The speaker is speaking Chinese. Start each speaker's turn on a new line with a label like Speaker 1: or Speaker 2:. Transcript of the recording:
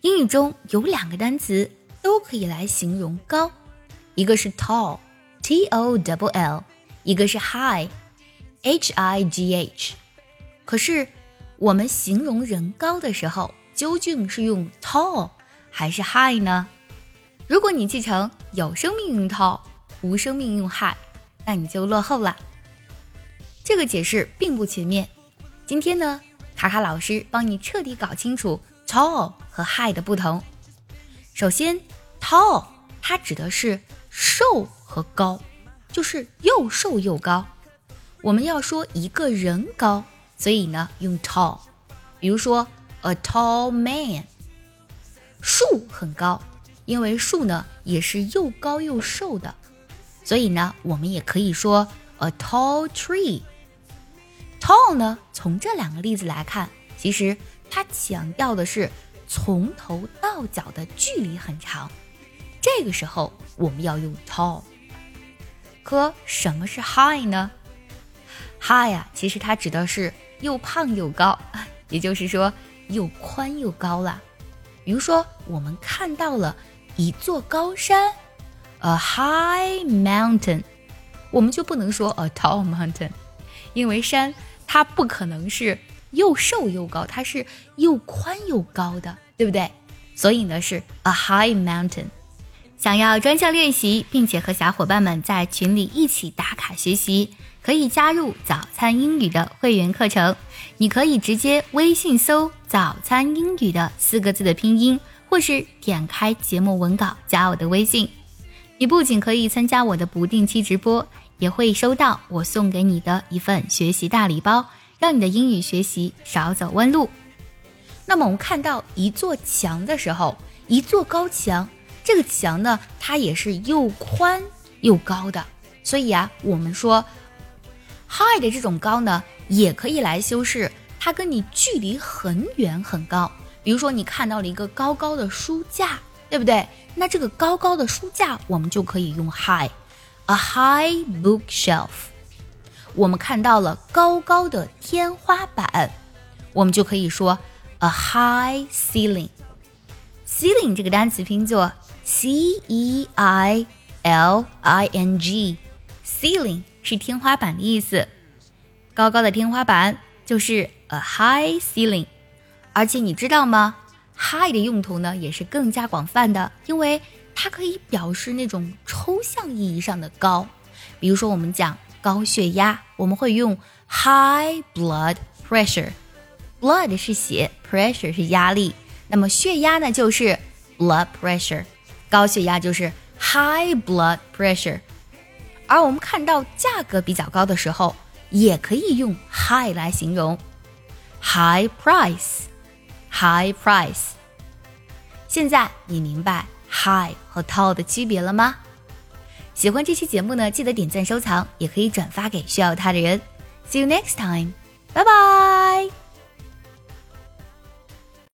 Speaker 1: 英语中有2个单词都可以来形容高，一个是 tall T-O-double-L， 一个是 high H-I-G-H。 可是我们形容人高的时候究竟是用 tall 还是 high 呢？如果你记成有生命用 tall， 无生命用 high， 那你就落后了。这个解释并不全面，今天呢，卡卡老师帮你彻底搞清楚 tall 和 high 的不同。首先 tall 它指的是瘦和高，就是又瘦又高。我们要说一个人高，所以呢用 tall。 比如说 a tall man， 树很高，因为树呢也是又高又瘦的，所以呢我们也可以说 a tall tree。 tall 呢从这2个例子来看，其实它强调的是从头到脚的距离很长，这个时候我们要用 tall。 可什么是 high 呢？ high 啊，其实它指的是又胖又高，也就是说又宽又高啦。比如说我们看到了一座高山 a high mountain， 我们就不能说 a tall mountain， 因为山它不可能是又瘦又高，它是又宽又高的，对不对？所以呢是 a high mountain。 想要专项练习并且和小伙伴们在群里一起打卡学习，可以加入早餐英语的会员课程。你可以直接微信搜早餐英语的4个字的拼音，或是点开节目文稿加我的微信。你不仅可以参加我的不定期直播，也会收到我送给你的一份学习大礼包，让你的英语学习少走弯路。那么我们看到一座墙的时候，一座高墙，这个墙呢它也是又宽又高的，所以啊我们说 high 的这种高呢也可以来修饰它跟你距离很远很高。比如说你看到了一个高高的书架，对不对？那这个高高的书架我们就可以用 high， a high bookshelf。 我们看到了高高的天花板，我们就可以说 a high ceiling。 ceiling 这个单词拼作 C-E-I-L-I-N-G， ceiling 是天花板的意思，高高的天花板就是 a high ceiling。 而且你知道吗， high 的用途呢也是更加广泛的，因为它可以表示那种抽象意义上的高。比如说我们讲高血压，我们会用 high blood pressure， blood 是血， pressure 是压力，那么血压呢就是 blood pressure， 高血压就是 high blood pressure。 而我们看到价格比较高的时候也可以用 high 来形容， high price， high price。 现在你明白 high 和 tall 的区别了吗？喜欢这期节目呢，记得点赞收藏，也可以转发给需要它的人。See you next time， 拜拜。